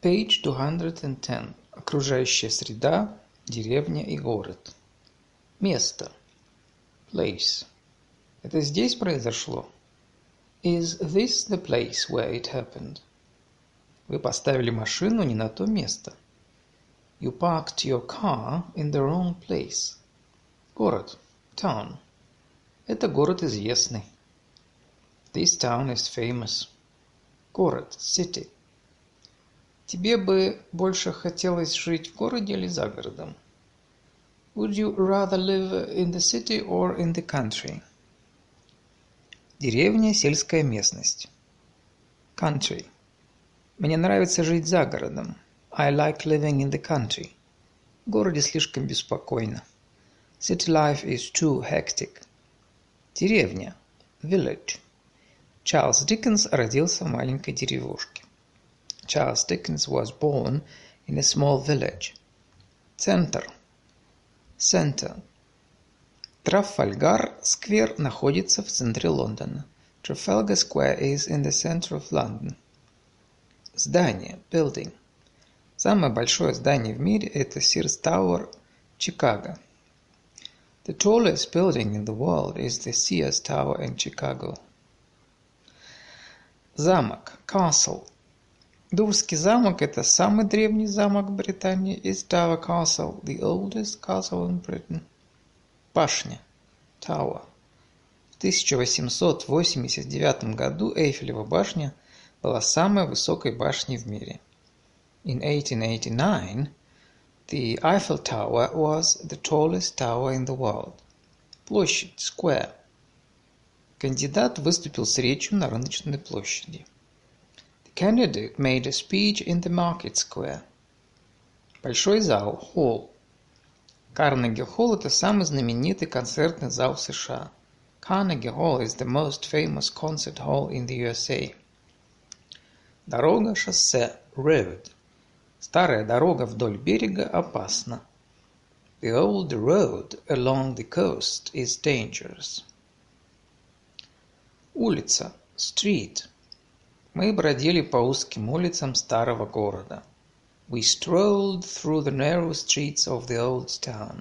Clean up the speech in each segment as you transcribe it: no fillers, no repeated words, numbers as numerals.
Page 210. Окружающая среда, деревня и город. Место. Place. Это здесь произошло? Is this the place where it happened? Вы поставили машину не на то место. You parked your car in the wrong place. Город. Town. Это город известный. This town is famous. Город. City. Тебе бы больше хотелось жить в городе или за городом? Would you rather live in the city or in the country? Деревня, сельская местность. Country. Мне нравится жить за городом. I like living in the country. В городе слишком беспокойно. City life is too hectic. Деревня. Village. Чарльз Диккенс родился в маленькой деревушке. Charles Dickens was born in a small village. Центр. Center. Трафальгар-сквер находится в центре Лондона. Trafalgar Square is in the center of London. Здание. Building. Самое большое здание в мире – это Sears Tower, Чикаго. The tallest building in the world is the Sears Tower in Chicago. Замок. Castle. Дурский замок – это самый древний замок Британии. Is Dover Castle the oldest castle in Britain? Башня. Tower. В 1889 году Эйфелева башня была самой высокой башней в мире. In 1889, the Eiffel Tower was the tallest tower in the world. Площадь. Square. Кандидат выступил с речью на рыночной площади. Candidate made a speech in the market square. Большой зал, холл. Карнеги-холл – это самый знаменитый концертный зал в США. Carnegie Hall is the most famous concert hall in the USA. Дорога, шоссе, road. Старая дорога вдоль берега опасна. The old road along the coast is dangerous. Улица, street. Мы бродили по узким улицам старого города. We strolled through the narrow streets of the old town.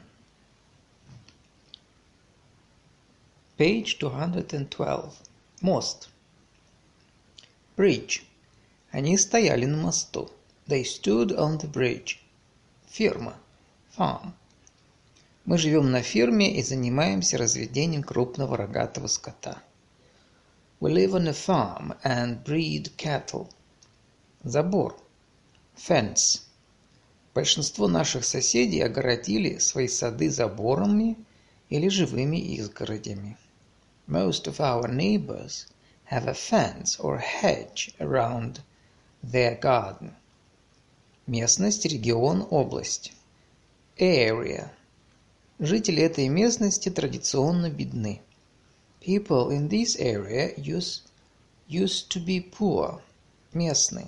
Page 212. Мост. Bridge. Они стояли на мосту. They stood on the bridge. Ферма. Farm. Мы живем на ферме и занимаемся разведением крупного рогатого скота. We live on a farm and breed cattle. Забор. Fence. Большинство наших соседей огородили свои сады заборами или живыми изгородями. Most of our neighbors have a fence or hedge around their garden. Местность, регион, область. Area. Жители этой местности традиционно бедны. People in this area used to be poor. Местный.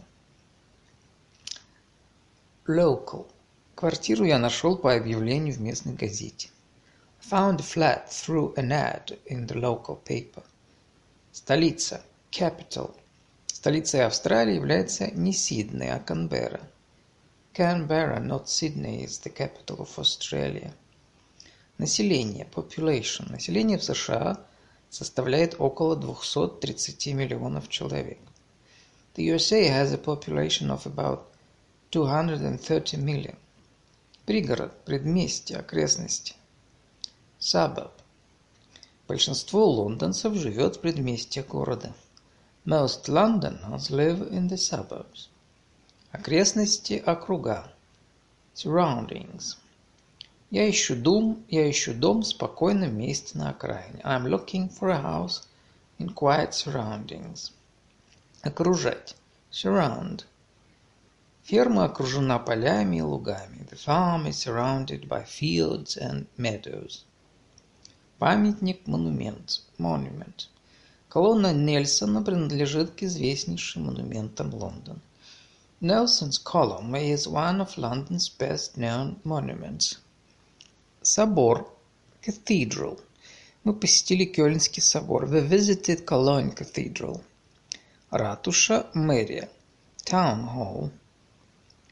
Local. Квартиру я нашел по объявлению в местной газете. Found a flat through an ad in the local paper. Столица. Capital. Столицей Австралии является не Сидней, а Канберра. Canberra, not Sydney, is the capital of Australia. Население. Population. Население в США составляет около 230 миллионов человек. The USA has a population of about 230 million. Пригород, предместье, окрестности. Suburb. Большинство лондонцев живет в предместьях города. Most Londoners live in the suburbs. Окрестности, округа. Surroundings. Я ищу дом в спокойном месте на окраине. I'm looking for a house in quiet surroundings. Окружать. Surround. Ферма окружена полями и лугами. The farm is surrounded by fields and meadows. Памятник, монумент. Monument. Колонна Нельсона принадлежит к известнейшим монументам Лондона. Nelson's column is one of London's best-known monuments. Собор. Cathedral. Мы посетили Кёльнский собор. We visited Cologne Cathedral. Ратуша. Мэрия. Town Hall.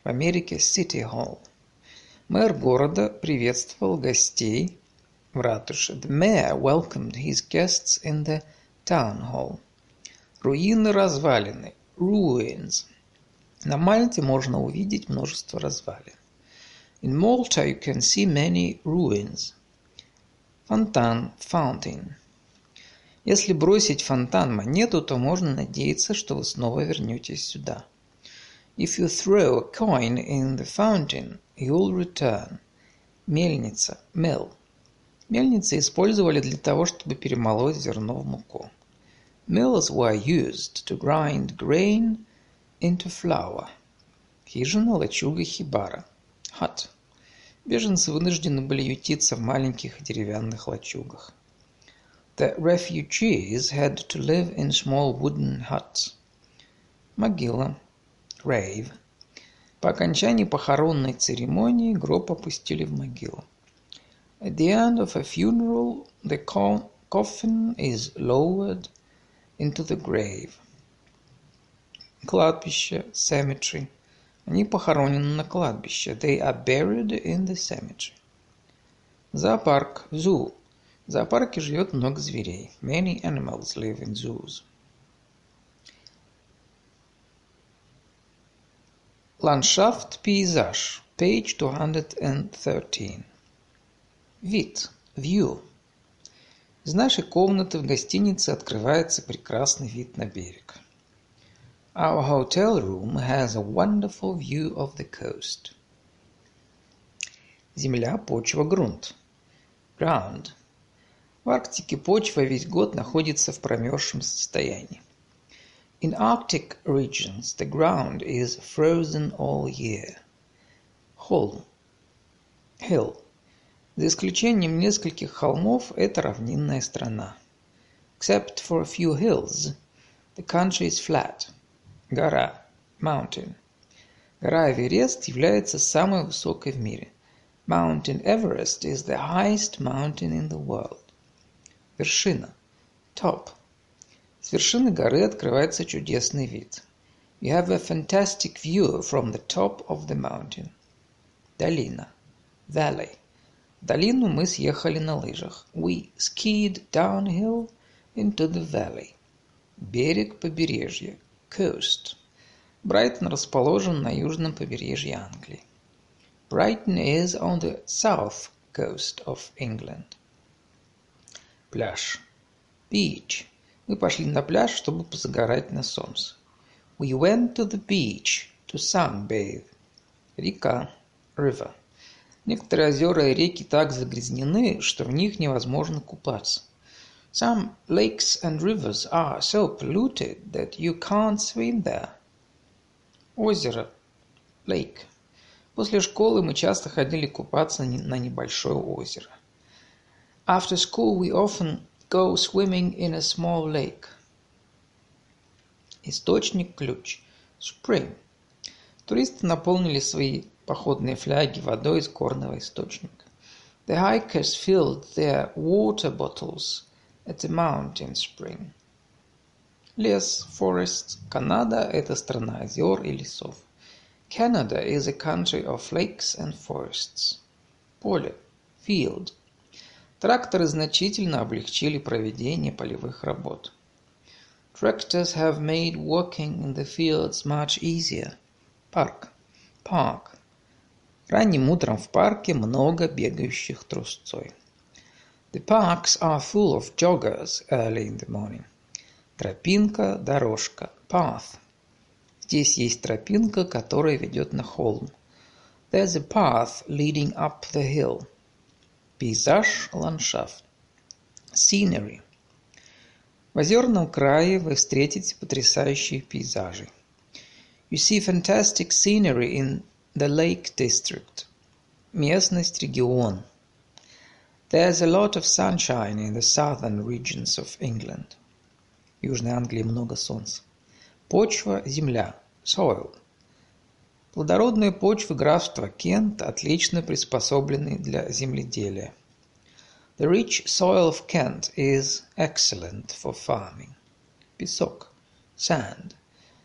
в Америке City Hall. Мэр города приветствовал гостей в ратуше. The mayor welcomed his guests in the town hall. Руины, развалины. Ruins. На Мальте можно увидеть множество развалин. In Malta you can see many ruins. Фонтан. Fountain. Если бросить в фонтан монету, то можно надеяться, что вы снова вернетесь сюда. If you throw a coin in the fountain, you'll return. Мельница. Mill. Мельницы использовали для того, чтобы перемолоть зерно в муку. Mills were used to grind grain into flour. Хижина, лачуга, хибара. Hut. Беженцы вынуждены были ютиться в маленьких деревянных лачугах. The refugees had to live in small wooden huts. Могила. Grave. По окончании похоронной церемонии гроб опустили в могилу. At the end of a funeral, the coffin is lowered into the grave. Кладбище. Cemetery. Они похоронены на кладбище. They are buried in the cemetery. Зоопарк. Zoo. В зоопарке живет много зверей. Many animals live in zoos. Ландшафт, пейзаж. Page 213. Вид. View. Из нашей комнаты в гостинице открывается прекрасный вид на берег. Our hotel room has a wonderful view of the coast. Земля, почва, грунт. Ground. В Арктике почва весь год находится в промерзшем состоянии. In Arctic regions, the ground is frozen all year. Холм. Hill. За исключением нескольких холмов, это равнинная страна. Except for a few hills, the country is flat. Гора. Mountain. Гора Эверест является самой высокой в мире. Mountain Everest is the highest mountain in the world. Вершина. Top. С вершины горы открывается чудесный вид. You have a fantastic view from the top of the mountain. Долина. Valley. В долину мы съехали на лыжах. We skied downhill into the valley. Берег, побережье. Coast. Брайтон расположен на южном побережье Англии. Brighton is on the south coast of England. Пляж. Beach. Мы пошли на пляж, чтобы позагорать на солнце. We went to the beach to sunbathe. Река. River. Некоторые озера и реки так загрязнены, что в них невозможно купаться. Some lakes and rivers are so polluted that you can't swim there. Озеро. Lake. После школы мы часто ходили купаться на небольшое озеро. After school we often go swimming in a small lake. Источник, ключ. Spring. Туристы наполнили свои походные фляги водой из горного источника. The hikers filled their water bottles at the mountain spring. Лес, forest. Канада – это страна озер и лесов. Canada is a country of lakes and forests. Поле. Field. Тракторы значительно облегчили проведение полевых работ. Tractors have made working in the fields much easier. Парк. Park. Ранним утром в парке много бегающих трусцой. The parks are full of joggers early in the morning. Тропинка, дорожка. Path. Здесь есть тропинка, которая ведет на холм. There's a path leading up the hill. Пейзаж, ландшафт. Scenery. В озерном крае вы встретите потрясающие пейзажи. You see fantastic scenery in the Lake District. Местность, регион. There's a lot of sunshine in the southern regions of England. В Южной Англии много солнца. Почва, земля. Soil. Плодородные почвы графства Кент отлично приспособлены для земледелия. The rich soil of Kent is excellent for farming. Песок. Sand.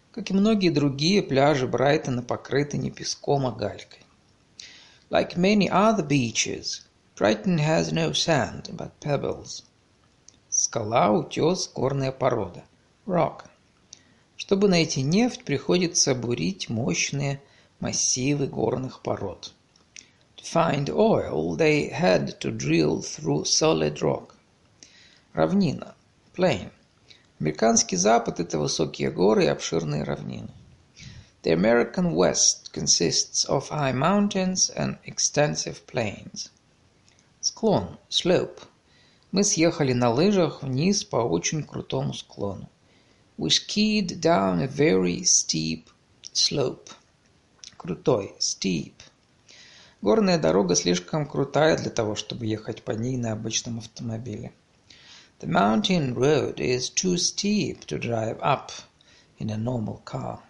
Как и многие другие, пляжи Брайтона покрыты не песком, а галькой. Like many other beaches, Brighton has no sand, but pebbles. Скала, утес, горная порода. Rock. Чтобы найти нефть, приходится бурить мощные массивы горных пород. To find oil, they had to drill through solid rock. Равнина. Plain. Американский Запад – это высокие горы и обширные равнины. The American West consists of high mountains and extensive plains. Склон. Slope. Мы съехали на лыжах вниз по очень крутому склону. We skied down a very steep slope. Крутой. Steep. Горная дорога слишком крутая для того, чтобы ехать по ней на обычном автомобиле. The mountain road is too steep to drive up in a normal car.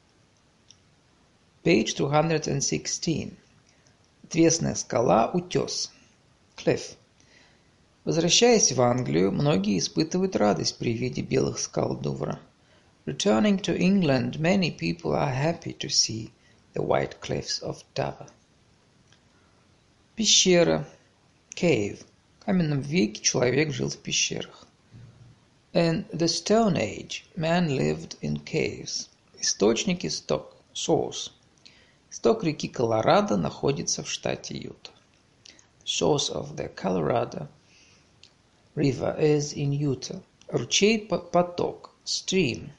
Page 216. Отвесная скала, утес. Cliff. Возвращаясь в Англию, многие испытывают радость при виде белых скал Дувра. Returning to England, many people are happy to see the white cliffs of Dover. Пещера. Cave. В каменном веке человек жил в пещерах. In the Stone Age, man lived in caves. Источник, исток. Source. Исток реки Колорадо находится в штате Юта. Source of the Colorado River is in Utah. Ручей, поток. Stream.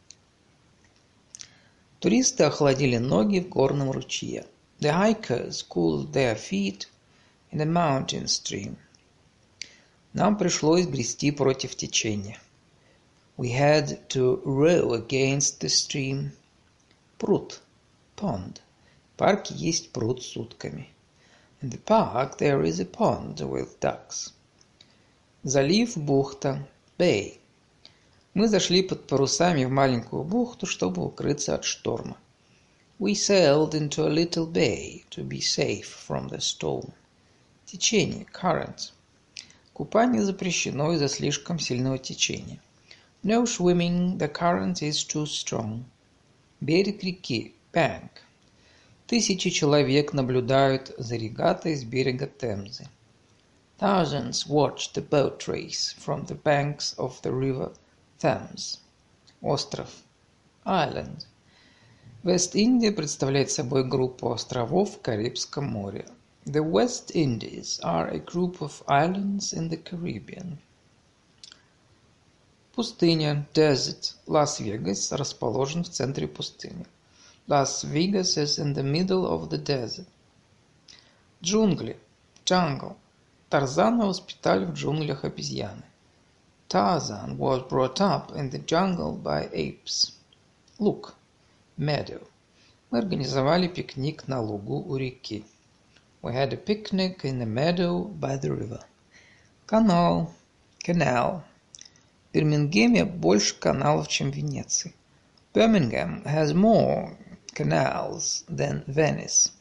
Туристы охладили ноги в горном ручье. The hikers cooled their feet in a mountain stream. Нам пришлось грести против течения. We had to row against the stream. Пруд. Pond. В парке есть пруд с утками. In the park there is a pond with ducks. Залив, бухта. Bay. Мы зашли под парусами в маленькую бухту, чтобы укрыться от шторма. We sailed into a little bay to be safe from the storm. Течение. Current. Купание запрещено из-за слишком сильного течения. No swimming, the current is too strong. Берег реки. Bank. Тысячи человек наблюдают за регатой с берега Темзы. Thousands watch the boat race from the banks of the river Thames. Остров. Island. Вест-Индия представляет собой группу островов в Карибском море. The West Indies are a group of islands in the Caribbean. Пустыня. Desert. Лас-Вегас расположен в центре пустыни. Las Vegas is in the middle of the desert. Джунгли. Jungle. Тарзана воспитали в джунглях обезьяны. Tarzan was brought up in the jungle by apes. Луг. Meadow. Мы организовали пикник на лугу у реки. We had a picnic in a meadow by the river. Канал. Canal. В Бирмингеме больше каналов, чем в Венеции. Birmingham has more canals than Venice.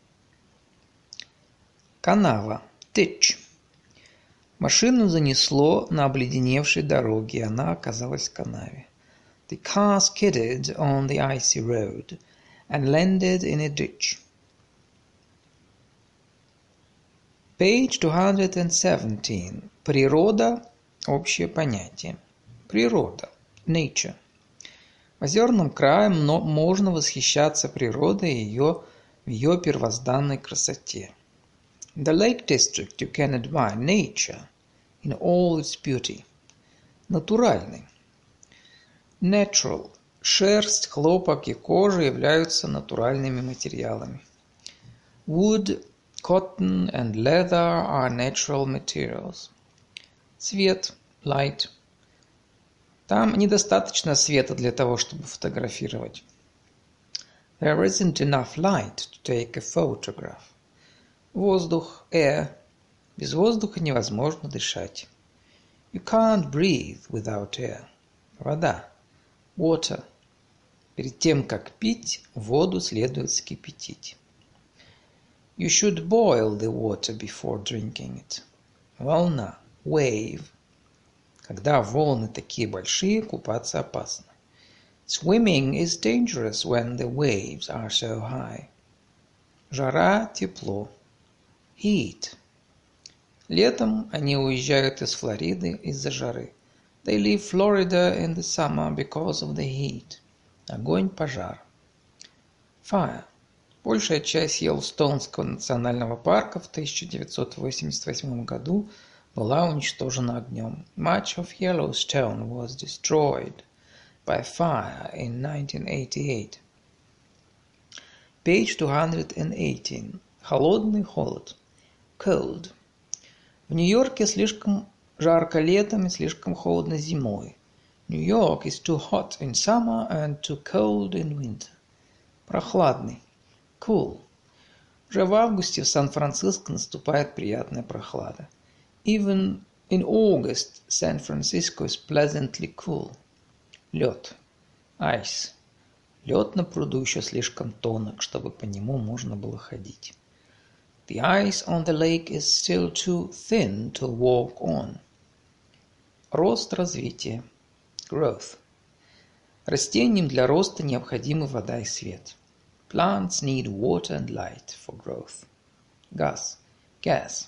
Канава. Ditch. Машину занесло на обледеневшей дороге, и она оказалась в канаве. The car skidded on the icy road and landed in a ditch. Page 217. Природа – общее понятие. Природа. Nature. В озерном крае можно восхищаться природой и в ее первозданной красоте. In the Lake District you can admire nature in all its beauty. Натуральный. Natural. Шерсть, хлопок и кожа являются натуральными материалами. Wood, cotton and leather are natural materials. Свет. Light. Там недостаточно света для того, чтобы фотографировать. There isn't enough light to take a photograph. Воздух. Air. Без воздуха невозможно дышать. You can't breathe without air. Вода. Water. Перед тем, как пить, воду следует вскипятить. You should boil the water before drinking it. Волна. Wave. Когда волны такие большие, купаться опасно. Swimming is dangerous when the waves are so high. Жара, тепло. Heat. Летом они уезжают из Флориды из-за жары. They leave Florida in the summer because of the heat. Огонь, пожар. Fire. Большая часть Йеллоустонского национального парка в 1988 году была уничтожена огнем. Much of Yellowstone was destroyed by fire in 1988. Page 218. Холодный, холод. Cold. В Нью-Йорке слишком жарко летом и слишком холодно зимой. New York is too hot in summer and too cold in winter. Прохладный. Cool. Уже в августе в Сан-Франциско наступает приятная прохлада. Even in August, San Francisco is pleasantly cool. Лед. Ice. Лед на пруду еще слишком тонок, чтобы по нему можно было ходить. The ice on the lake is still too thin to walk on. Рост, развитие. Growth. Растениям для роста необходимы вода и свет. Plants need water and light for growth. Газ. Gas.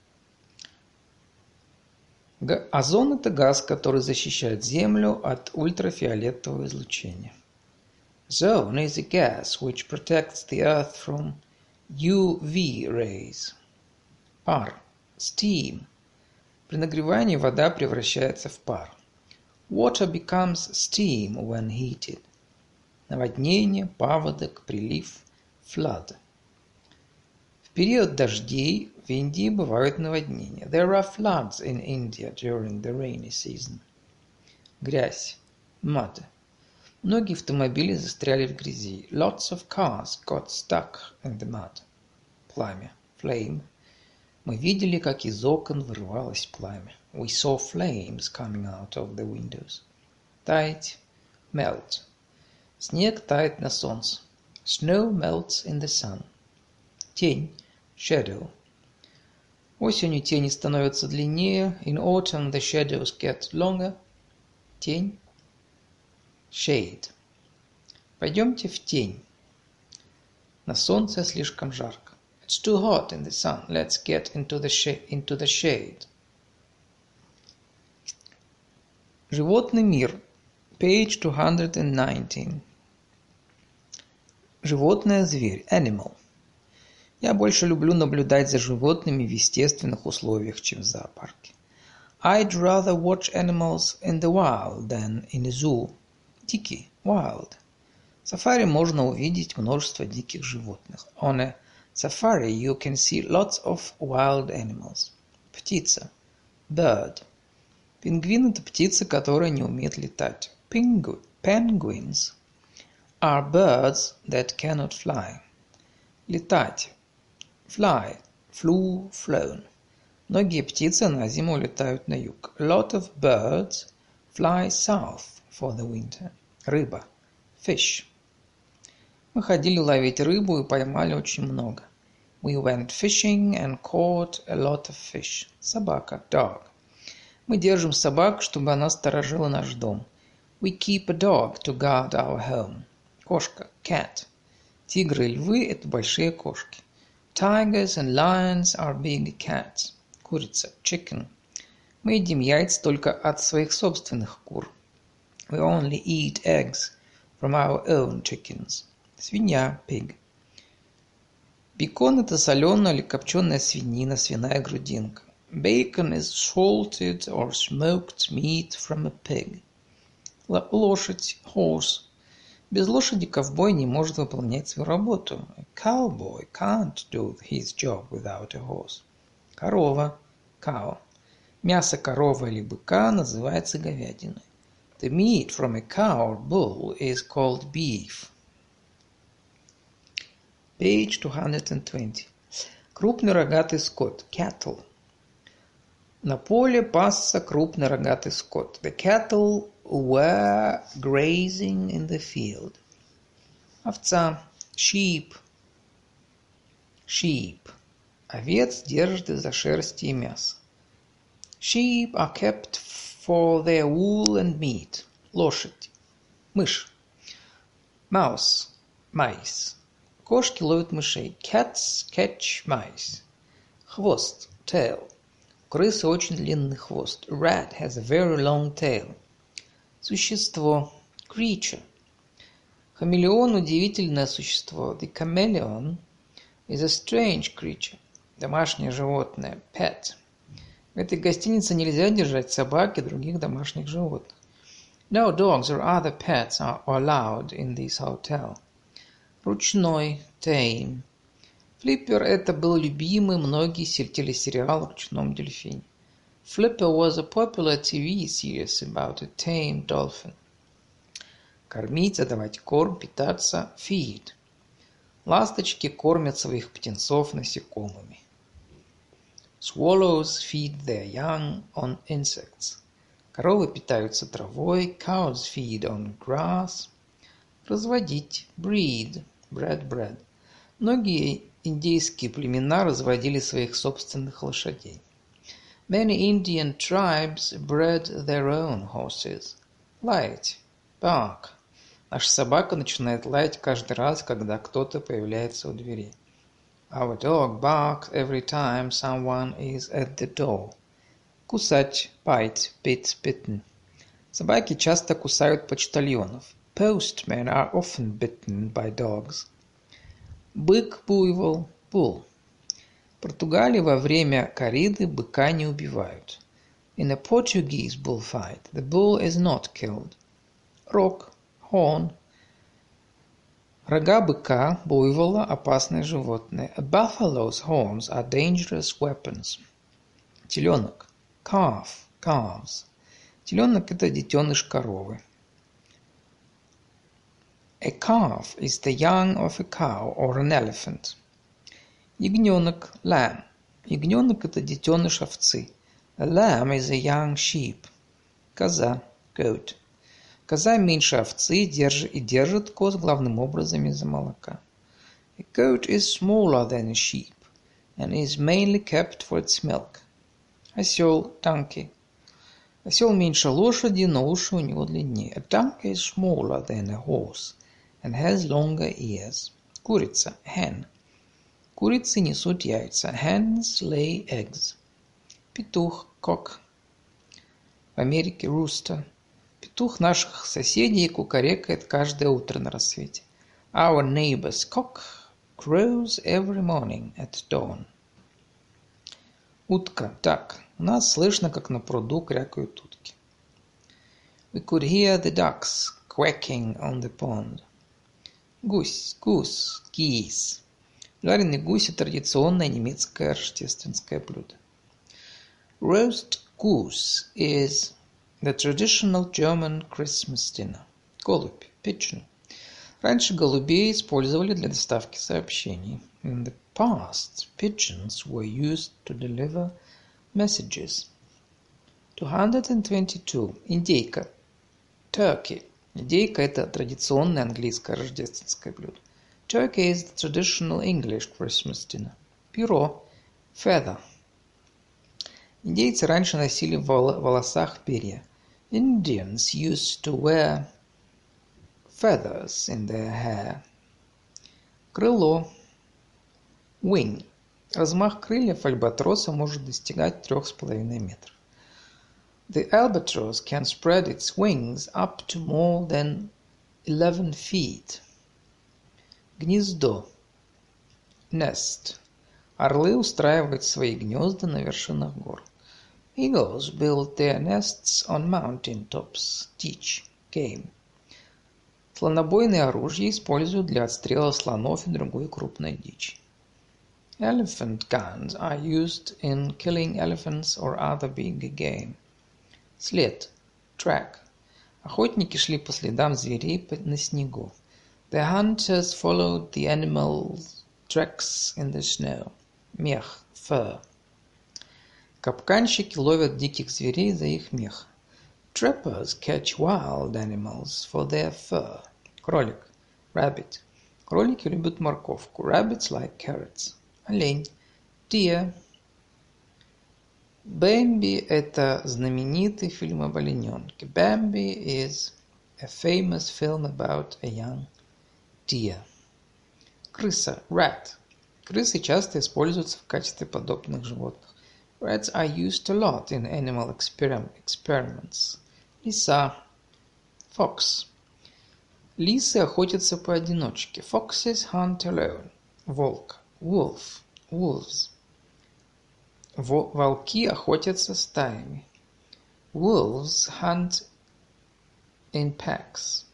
Озон – это газ, который защищает Землю от ультрафиолетового излучения. Ozone is a gas which protects the Earth from UV rays. Пар. Steam. При нагревании вода превращается в пар. Water becomes steam when heated. Наводнение, паводок, прилив, flood. В период дождей в Индии бывают наводнения. There are floods in India during the rainy season. Грязь. Mud. Многие автомобили застряли в грязи. Lots of cars got stuck in the mud. Пламя. Flame. Мы видели, как из окон вырывалось пламя. We saw flames coming out of the windows. Таять. Melt. Снег тает на солнце. Snow melts in the sun. Тень. Shadow. Осенью тени становятся длиннее. In autumn the shadows get longer. Тень. Shade. Пойдемте в тень. На солнце слишком жарко. It's too hot in the sun. Let's get into the shade. Животный мир. Page 219. Животное, зверь. Animal. Я больше люблю наблюдать за животными в естественных условиях, чем в зоопарке. I'd rather watch animals in the wild than in a zoo. Дикий. Wild. В сафари можно увидеть множество диких животных. On a safari you can see lots of wild animals. Птица. Bird. Пингвин – это птица, которая не умеет летать. Penguins are birds that cannot fly. Летать. Fly. Flew, flown. Многие птицы на зиму летают на юг. A lot of birds fly south for the winter. Рыба. Fish. Мы ходили ловить рыбу и поймали очень много. We went fishing and caught a lot of fish. Собака. Dog. Мы держим собак, чтобы она сторожила наш дом. We keep a dog to guard our home. Кошка. Cat. Тигры и львы – это большие кошки. Tigers and lions are big cats. Курица. Chicken. Мы едим яйца только от своих собственных кур. We only eat eggs from our own chickens. Свинья. Pig. Бекон – это соленая или копченая свинина, свиная грудинка. Bacon is salted or smoked meat from a pig. Лошадь. Horse. Без лошади ковбой не может выполнять свою работу. A cowboy can't do his job without a horse. Корова. Cow. Мясо коровы или быка называется говядиной. The meat from a cow or bull is called beef. Page 220. Крупный рогатый скот. Cattle. На поле пасся крупный рогатый скот. The cattle were grazing in the field. Овца. Sheep. Sheep. Овец держат из-за шерсти и мяса. Sheep are kept for their wool and meat. Лошадь. Мышь. Mouse – mice. Кошки ловят мышей. Cats catch mice. Хвост – tail. У крысы очень длинный хвост. A rat has a very long tail. Существо – creature. Хамелеон – удивительное существо. The chameleon is a strange creature. Домашнее животное – pet. В этой гостинице нельзя держать собак и других домашних животных. No dogs or other pets are allowed in this hotel. Ручной – tame. Flipper – это был любимый многие телесериал о ручном дельфине. Flipper was a popular TV series about a tame dolphin. Кормить, давать корм, питаться – feed. Ласточки кормят своих птенцов насекомыми. Swallows feed their young on insects. Коровы питаются травой. Cows feed on grass. Разводить. Breed. Bread. Многие индейские племена разводили своих собственных лошадей. Many Indian tribes bred their own horses. Лаять. Bark. Наша собака начинает лаять каждый раз, когда кто-то появляется у двери. Our dog barks every time someone is at the door. Кусать. Bite. Bitten. Собаки часто кусают почтальонов. Postmen are often bitten by dogs. Бык, буйвол, bull. В Португалии во время корриды быка не убивают. In a Portuguese bullfight, the bull is not killed. Рог, horn. Рога быка, буйвола – опасное животное. A buffalo's horns are dangerous weapons. Теленок. Calves. Теленок – это детеныш коровы. A calf is the young of a cow or an elephant. Ягненок – lamb. Ягненок – это детеныш овцы. A lamb is a young sheep. Коза – goat. Коза меньше овцы и держит коз главным образом из-за молока. A goat is smaller than a sheep and is mainly kept for its milk. Осел – donkey. Осел меньше лошади, но уши у него длиннее. A donkey is smaller than a horse and has longer ears. Курица – hen. Курицы несут яйца. Hens lay eggs. Петух – cock. В Америке – rooster. Петух наших соседей кукарекает каждое утро на рассвете. Our neighbor's cock crows every morning at dawn. Утка – duck. У нас слышно, как на пруду крякают утки. We could hear the ducks quacking on the pond. Гусь – goose, geese. Жареный гусь – это традиционное немецкое рождественское блюдо. Roast goose is the traditional German Christmas dinner. Голубь – pigeon. Раньше голубей использовали для доставки сообщений. In the past, pigeons were used to deliver messages. 222. Индейка. Turkey. Индейка – это традиционное английское рождественское блюдо. Turkey is the traditional English Christmas dinner. Перо. Feather. Индейцы раньше носили в волосах перья. Indians used to wear feathers in their hair. Крыло. Wing. Размах крыльев альбатроса может достигать 3,5 метров. The albatross can spread its wings up to more than 11 feet. Гнездо. Nest. Орлы устраивают свои гнезда на вершинах гор. Eagles build their nests on mountain tops. Teach. Game. Слонобойные оружия используют для отстрела слонов и другой крупной дичи. Elephant guns are used in killing elephants or other big game. След. Track. Охотники шли по следам зверей на снегу. The hunters followed the animals' tracks in the snow. Мех. Fur. Капканщики ловят диких зверей за их мех. Trappers catch wild animals for their fur. Кролик. Rabbit. Кролики любят морковку. Rabbits like carrots. Олень. Deer. Бэмби – это знаменитый фильм об олененке. Bambi is a famous film about a young deer. Крыса, rat. Крысы часто используются в качестве подопытных животных. Rats are used a lot in animal experiments. Лиса, fox. Лисы охотятся поодиночке. Foxes hunt alone. Волк, wolf, wolves. Волки охотятся стаями. Wolves hunt in packs.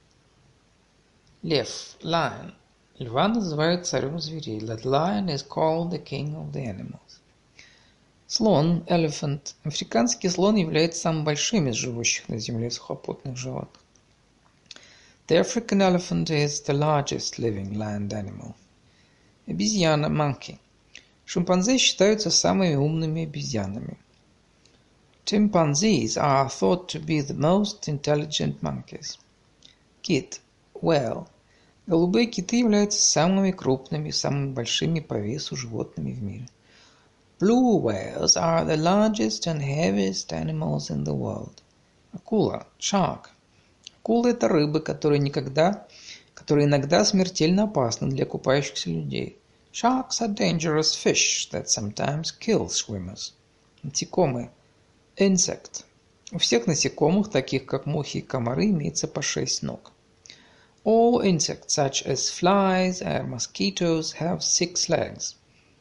Лев, lion. Льва называют царем зверей. That lion is called the king of the animals. Слон, elephant. Африканский слон является самым большим из живущих на земле сухопутных животных. The African elephant is the largest living land animal. Обезьяна, monkey. Шимпанзе считаются самыми умными обезьянами. Chimpanzees are thought to be the most intelligent monkeys. Kit, whale. Голубые киты являются самыми крупными и самыми большими по весу животными в мире. Blue whales are the largest and heaviest animals in the world. Акула, shark. Акулы – это рыбы, которые иногда смертельно опасны для купающихся людей. Sharks are dangerous fish that sometimes kill swimmers. Насекомые. Insect. У всех насекомых, таких как мухи и комары, имеется по 6 ног. All insects, such as flies and mosquitoes, have 6 legs.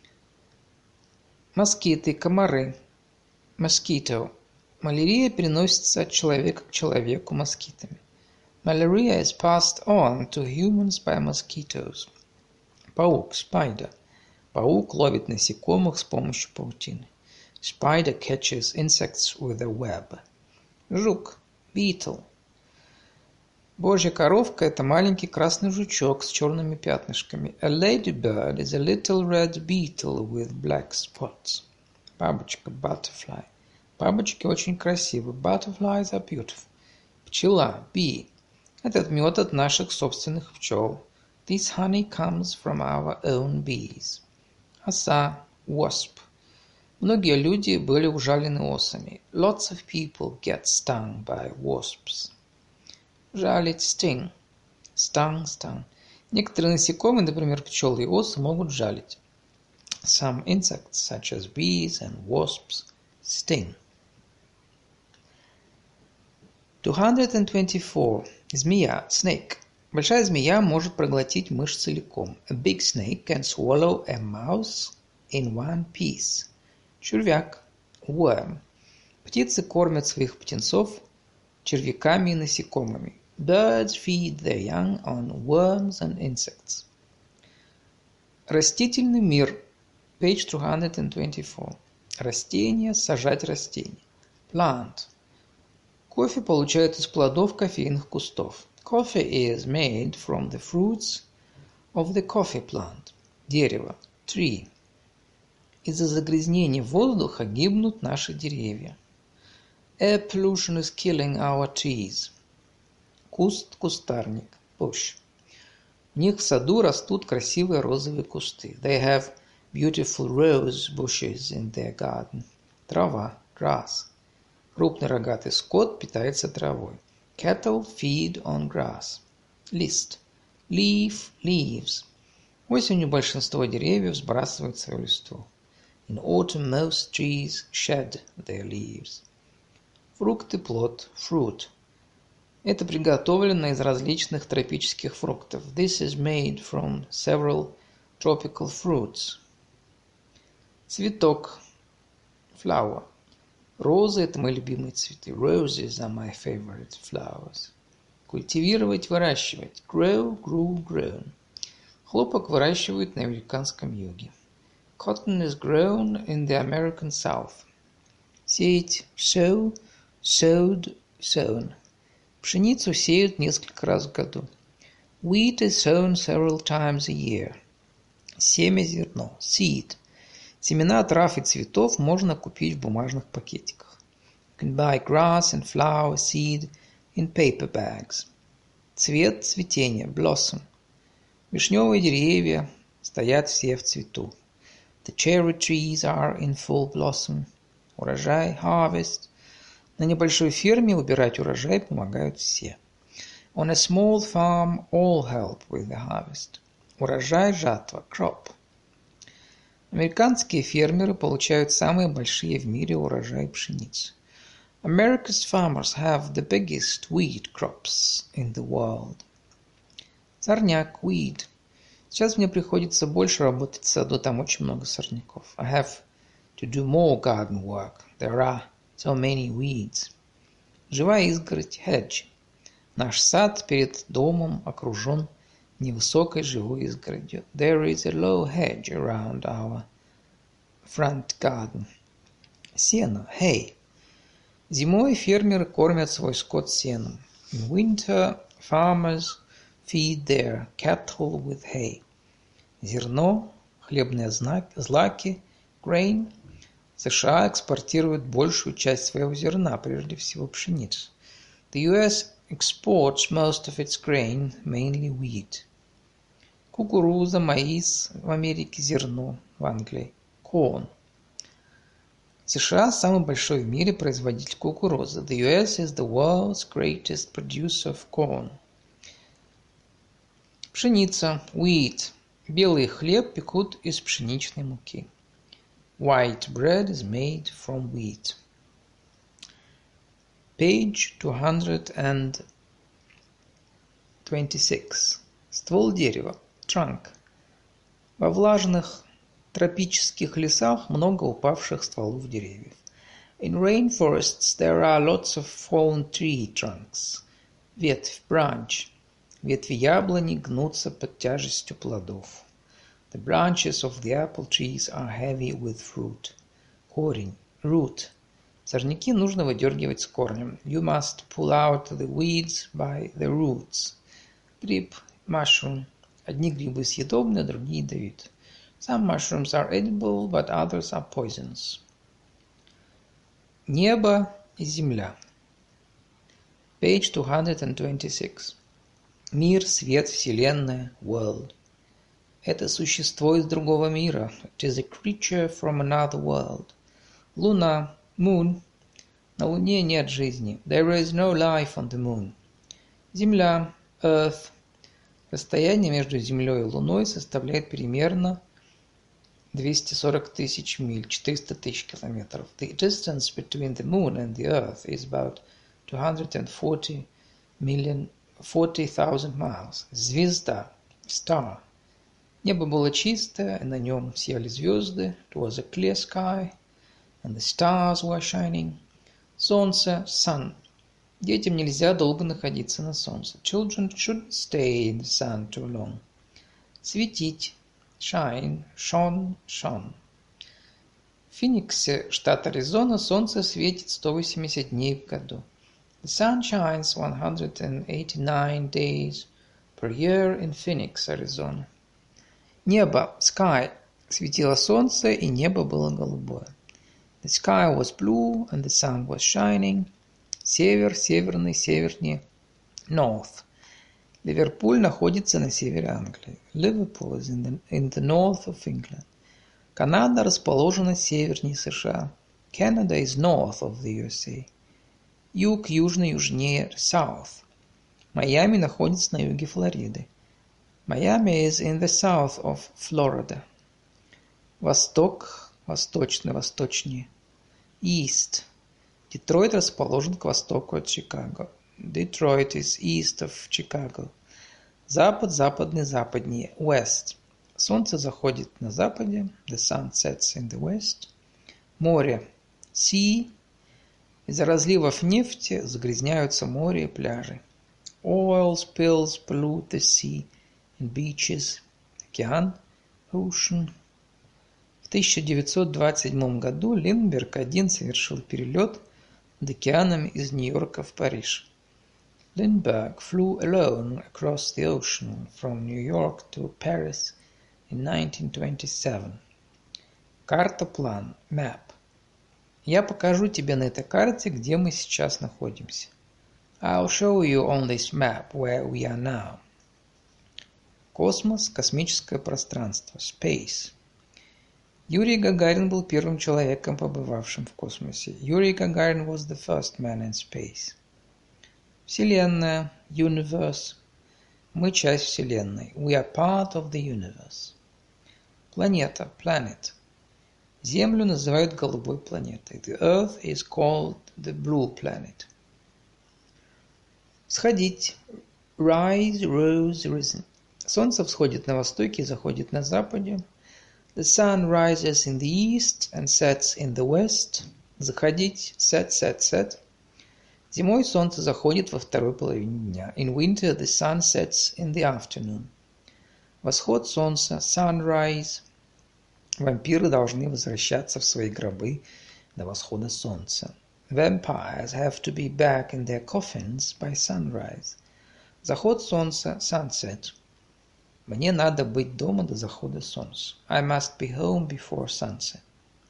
Москиты, комары. Mosquito. Малярия переносится от человека к человеку москитами. Malaria is passed on to humans by mosquitoes. Паук, spider. Паук ловит насекомых с помощью паутины. Spider catches insects with a web. Жук, beetle. Божья коровка – это маленький красный жучок с черными пятнышками. A ladybird is a little red beetle with black spots. Бабочка, butterfly. Бабочки очень красивы. Butterflies are beautiful. Пчела, bee. Этот мед от наших собственных пчел. This honey comes from our own bees. Оса, wasp. Многие люди были ужалены осами. Lots of people get stung by wasps. Жалить, sting. Stung. Некоторые насекомые, например, пчелы и осы, могут жалить. Some insects, such as bees and wasps, sting. 224. Змея, snake. Большая змея может проглотить мышь целиком. A big snake can swallow a mouse in one piece. Червяк, worm. Птицы кормят своих птенцов червяками и насекомыми. Birds feed their young on worms and insects. Растительный мир. Page 224. Растения, сажать растения. Plant. Кофе получают из плодов кофейных кустов. Coffee is made from the fruits of the coffee plant. Дерево. Tree. Из-за загрязнения воздуха гибнут наши деревья. Air pollution is killing our trees. Куст, кустарник. Bush. В них в саду растут красивые розовые кусты. They have beautiful rose bushes in their garden. Трава. Grass. Крупный рогатый скот питается травой. Cattle feed on grass. List. Leaf, leaves. Осенью большинство деревьев сбрасывают свою листву. In autumn most trees shed their leaves. Фрукты, плод. Fruit. Это приготовлено из различных тропических фруктов. This is made from several tropical fruits. Цветок. Flower. Розы – это мои любимые цветы. Roses are my favorite flowers. Культивировать, выращивать. Grow, grew, grown. Хлопок выращивают на американском юге. Cotton is grown in the American South. Сеять. Sow, sowed, sown. Пшеницу сеют несколько раз в году. Wheat is sown several times a year. Семя, зерно. Seed. Семена трав и цветов можно купить в бумажных пакетиках. You can buy grass and flower seed in paper bags. Цвет, цветение. Blossom. Вишневые деревья стоят все в цвету. The cherry trees are in full blossom. Урожай. Harvest. На небольшой ферме убирать урожай помогают все. On a small farm all help with the harvest. Урожай, жатва, crop. Американские фермеры получают самые большие в мире урожаи пшеницы. America's farmers have the biggest wheat crops in the world. Сорняк, weed. Сейчас мне приходится больше работать в саду, там очень много сорняков. I have to do more garden work. There are so many weeds. Живая изгородь, hedge. Наш сад перед домом окружен невысокой живой изгородью. There is a low hedge around our front garden. Сено, hay. Зимой фермеры кормят свой скот сеном. In winter, farmers feed their cattle with hay. Зерно, хлебные злаки, grain. США экспортируют большую часть своего зерна, прежде всего пшеницу. The US exports most of its grain, mainly wheat. Кукуруза, маис в Америке, зерно в Англии, corn. США самый большой в мире производитель кукурузы. The US is the world's greatest producer of corn. Пшеница, wheat. Белый хлеб пекут из пшеничной муки. White bread is made from wheat. Page 226. Ствол дерева, trunk. Во влажных тропических лесах много упавших стволов деревьев. In rainforests there are lots of fallen tree trunks. Ветвь, branch. Ветви яблони гнутся под тяжестью плодов. The branches of the apple trees are heavy with fruit. Корень, root. Сорняки нужно выдергивать с корнем. You must pull out the weeds by the roots. Гриб, mushroom. Одни грибы съедобны, другие ядовиты. Some mushrooms are edible, but others are poisonous. Небо и земля. Page 226. Мир, свет, вселенная, world. Это существо из другого мира. It is a creature from another world. Луна, moon. На Луне нет жизни. There is no life on the moon. Земля, earth. Расстояние между Землей и Луной составляет примерно 240 тысяч миль, 400 тысяч километров. The distance between the moon and the earth is about 240,000 miles. Звезда, star. Небо было чистое, и на нем сияли звезды. It was a clear sky, and the stars were shining. Солнце, sun. Детям нельзя долго находиться на солнце. Children shouldn't stay in the sun too long. Светить, shine, shone, shone. В Фениксе, штат Аризона, солнце светит 180 дней в году. The sun shines 189 days per year in Phoenix, Arizona. Небо, sky, светило солнце, и небо было голубое. The sky was blue, and the sun was shining. Север, северный, севернее. North. Ливерпуль находится на севере Англии. Liverpool is in the north of England. Канада расположена севернее США. Canada is north of the USA. Юг, южный, южнее, south. Майами находится на юге Флориды. Miami is in the south of Florida. Восток, восточный, восточнее. East. Детройт расположен к востоку от Чикаго. Detroit is east of Chicago. Запад, западный, западнее. West. Солнце заходит на западе. The sun sets in the west. Море. Sea. Из-за разливов нефти загрязняются море и пляжи. Oil spills pollute the sea and beaches. Океан. Ocean. В 1927 году Линдберг-1 совершил перелет над океаном из Нью-Йорка в Париж. Lindbergh flew alone across the ocean from New York to Paris in 1927. Карта-план, map. Я покажу тебе на этой карте, где мы сейчас находимся. I'll show you on this map where we are now. Космос, космическое пространство, space. Юрий Гагарин был первым человеком, побывавшим в космосе. Yuri Gagarin was the first man in space. Вселенная, universe. Мы часть Вселенной. We are part of the universe. Планета, planet. Землю называют голубой планетой. The Earth is called the blue planet. Сходить. Rise, rose, risen. Солнце всходит на востоке и заходит на западе. The sun rises in the east and sets in the west. Заходить. Set, set, set. Зимой солнце заходит во второй половине дня. In winter the sun sets in the afternoon. Восход солнца. Sunrise. Вампиры должны возвращаться в свои гробы до восхода солнца. Vampires have to be back in their coffins by sunrise. Заход солнца. Sunset. Мне надо быть дома до захода солнца. I must be home before sunset.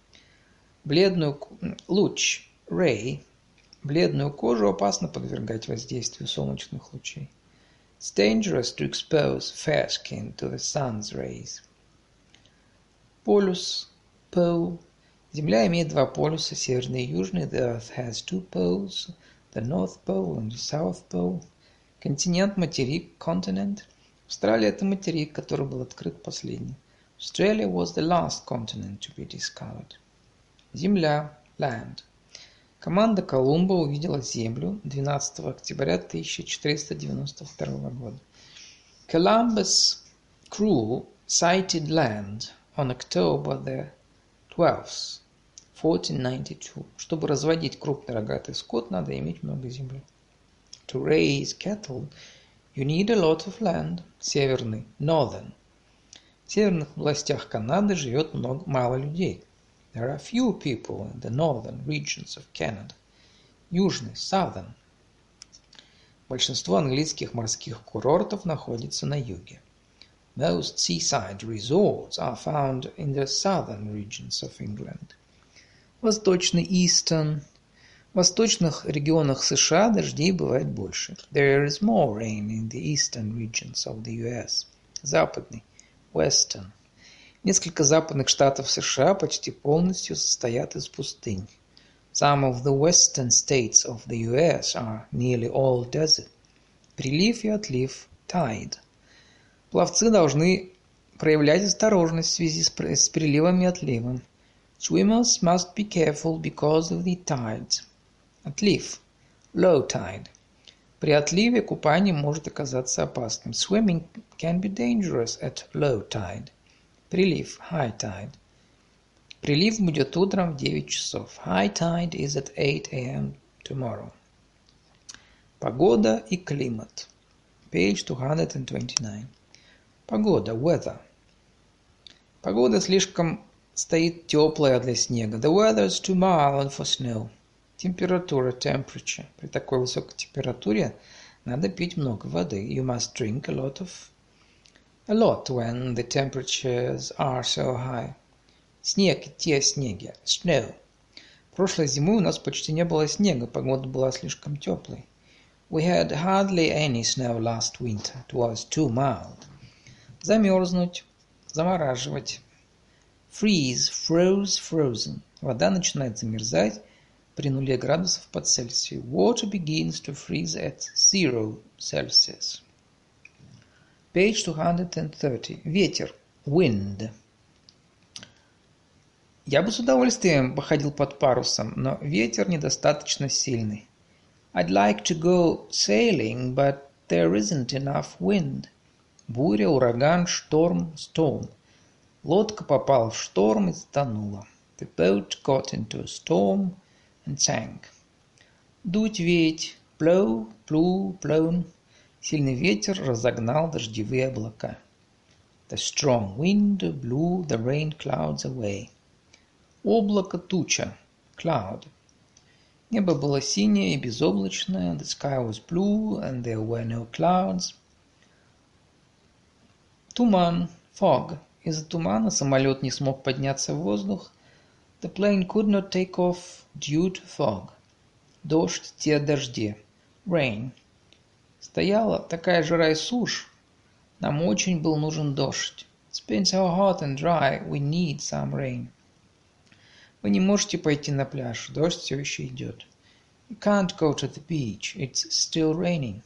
Луч. Ray. Бледную кожу опасно подвергать воздействию солнечных лучей. It's dangerous to expose fair skin to the sun's rays. Полюс. Pole. Земля имеет два полюса, северный и южный. The Earth has two poles, the North Pole and the South Pole. Континент, материк, continent. Австралия – это материк, который был открыт последний. Australia was the last continent to be discovered. Земля, land. Команда Колумба увидела Землю 12 октября 1492 года. Columbus' crew sighted land on October the 12th, 1492. Чтобы разводить крупный рогатый скот, надо иметь много земли. To raise cattle, you need a lot of land. Северный, northern. В северных областях Канады живет мало людей. There are few people in the northern regions of Canada. Южный, southern. Большинство английских морских курортов находится на юге. Most seaside resorts are found in the southern regions of England. Восточный, eastern. В восточных регионах США дождей бывает больше. There is more rain in the eastern regions of the US. Западный, western. Несколько западных штатов США почти полностью состоят из пустынь. Some of the western states of the US are nearly all desert. Прилив и отлив, tide. Пловцы должны проявлять осторожность в связи с приливом и отливом. Swimmers must be careful because of the tides. Отлив, low tide. При отливе купание может оказаться опасным. Swimming can be dangerous at low tide. Прилив, high tide. Прилив будет утром в 9 часов. High tide is at 8 a.m. tomorrow. Погода и климат. Page 229. Погода, weather. Погода слишком стоит теплая для снега. The weather is too mild for snow. Температура, temperature. При такой высокой температуре надо пить много воды. You must drink a lot when the temperatures are so high. Снег, идти о снеге. Snow. Прошлой зимой у нас почти не было снега, погода была слишком теплой. We had hardly any snow last winter. It was too mild. Замерзнуть, замораживать. Freeze, froze, frozen. Вода начинает замерзать при 0 градусов по Цельсию. Water begins to freeze at 0 Celsius. Page 230. Ветер. Wind. Я бы с удовольствием походил под парусом, но ветер недостаточно сильный. I'd like to go sailing, but there isn't enough wind. Буря, ураган, шторм, storm. Лодка попала в шторм и затонула. The boat got into a storm and sank. Дуть, веять. Blow, blew, blown. Сильный ветер разогнал дождевые облака. The strong wind blew the rain clouds away. Облако, туча. Cloud. Небо было синее и безоблачное. The sky was blue and there were no clouds. Туман. Fog. Из-за тумана самолет не смог подняться в воздух. The plane could not take off due to fog. Дождь, идти о дожде. Rain. Стояла такая жара и сушь. Нам очень был нужен дождь. It's been so hot and dry, we need some rain. Вы не можете пойти на пляж, дождь все еще идет. You can't go to the beach. It's still raining.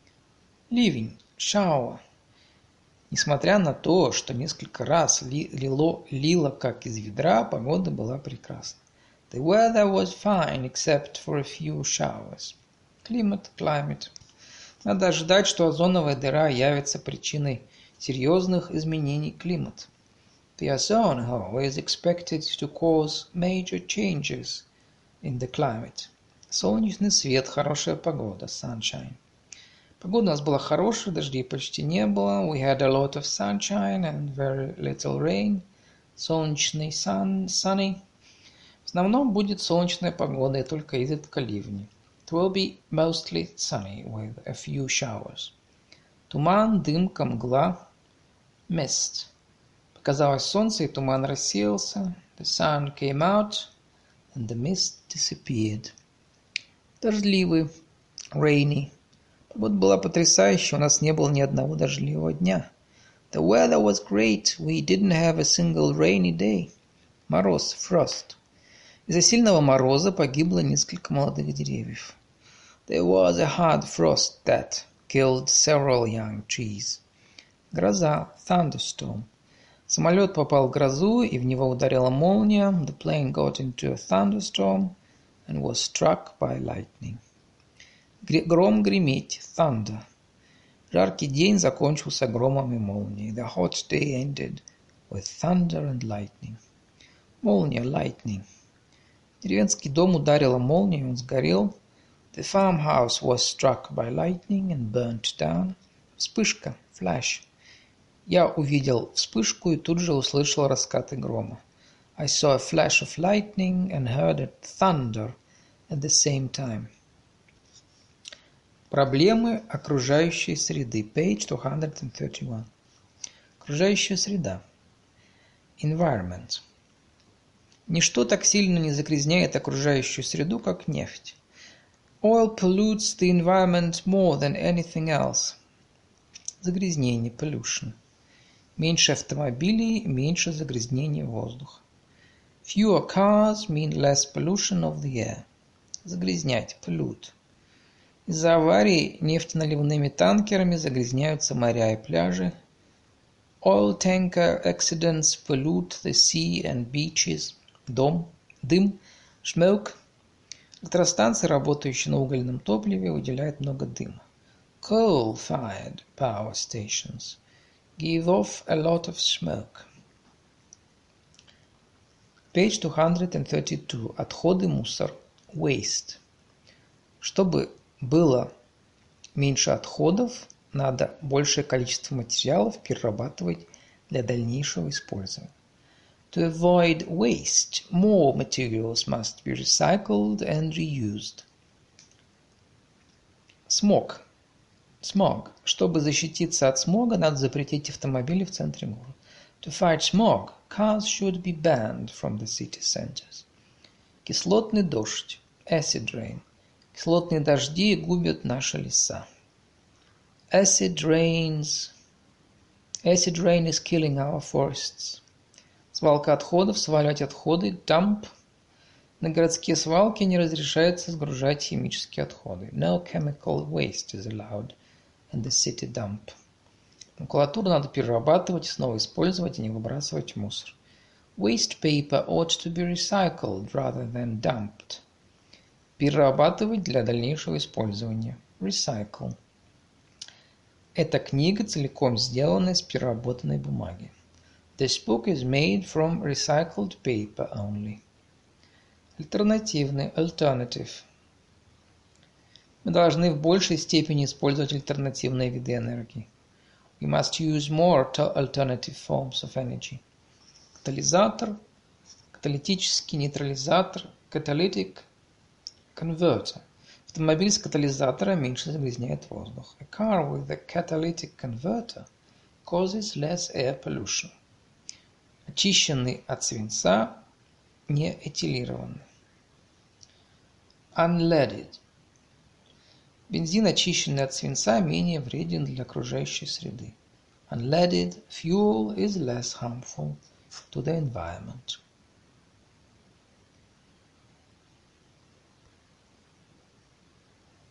Living. Shower. Несмотря на то, что несколько раз лило как из ведра, погода была прекрасна. The weather was fine, except for a few showers. Climate. Надо ожидать, что озоновая дыра явится причиной серьезных изменений климата. The ozone hole is expected to cause major changes in the climate. Солнечный свет, хорошая погода, sunshine. Погода у нас была хорошая, дождей почти не было. We had a lot of sunshine and very little rain. Солнечный, sunny. В основном будет солнечная погода и только изредка ливни. It will be mostly sunny with a few showers. Туман, дымка, мгла, mist. Показалось солнце, и туман рассеялся. The sun came out, and the mist disappeared. Дождливый, rainy. Погода была потрясающая, у нас не было ни одного дождливого дня. The weather was great, we didn't have a single rainy day. Мороз, frost. Из-за сильного мороза погибло несколько молодых деревьев. There was a hard frost that killed several young trees. Гроза, thunderstorm. Самолет попал в грозу, и в него ударила молния. The plane got into a thunderstorm and was struck by lightning. Гром греметь, thunder. Жаркий день закончился громом и молнией. The hot day ended with thunder and lightning. Молния, lightning. Деревенский дом ударила молния, и он сгорел. The farmhouse was struck by lightning and burnt down. Вспышка, flash. Я увидел вспышку и тут же услышал раскаты грома. I saw a flash of lightning and heard a thunder at the same time. Проблемы окружающей среды. Page 231. Окружающая среда. Environment. Ничто так сильно не загрязняет окружающую среду, как нефть. Oil pollutes the environment more than anything else. Загрязнение, pollution. Меньше автомобилей, меньше загрязнения воздуха. Fewer cars mean less pollution of the air. Загрязнять, pollute. Из-за аварий нефтеналивными танкерами загрязняются моря и пляжи. Oil tanker accidents pollute the sea and beaches. Дым, smoke. Электростанции, работающие на угольном топливе, выделяют много дыма. Coal-fired power stations give off a lot of smoke. Page 232. Отходы, мусор. Waste. Чтобы было меньше отходов, надо большее количество материалов перерабатывать для дальнейшего использования. To avoid waste, more materials must be recycled and reused. Smog. Чтобы защититься от смога, надо запретить автомобили в центре города. To fight smog, cars should be banned from the city centers. Кислотный дождь. Acid rain. Кислотные дожди губят наши леса. Acid rain is killing our forests. Свалка отходов, сваливать отходы. Dump. На городские свалки не разрешается сгружать химические отходы. No chemical waste is allowed in the city dump. Макулатуру надо перерабатывать и снова использовать, и не выбрасывать в мусор. Waste paper ought to be recycled rather than dumped. Перерабатывать для дальнейшего использования. Recycle. Эта книга целиком сделана из переработанной бумаги. This book is made from recycled paper only. Альтернативный. Alternative. Мы должны в большей степени использовать альтернативные виды энергии. We must use more alternative forms of energy. Катализатор, каталитический нейтрализатор, catalytic converter. Автомобиль с катализатором меньше загрязняет воздух. A car with a catalytic converter causes less air pollution. Очищенный от свинца, не этилированный. Unleaded. Бензин, очищенный от свинца, менее вреден для окружающей среды. Unleaded fuel is less harmful to the environment.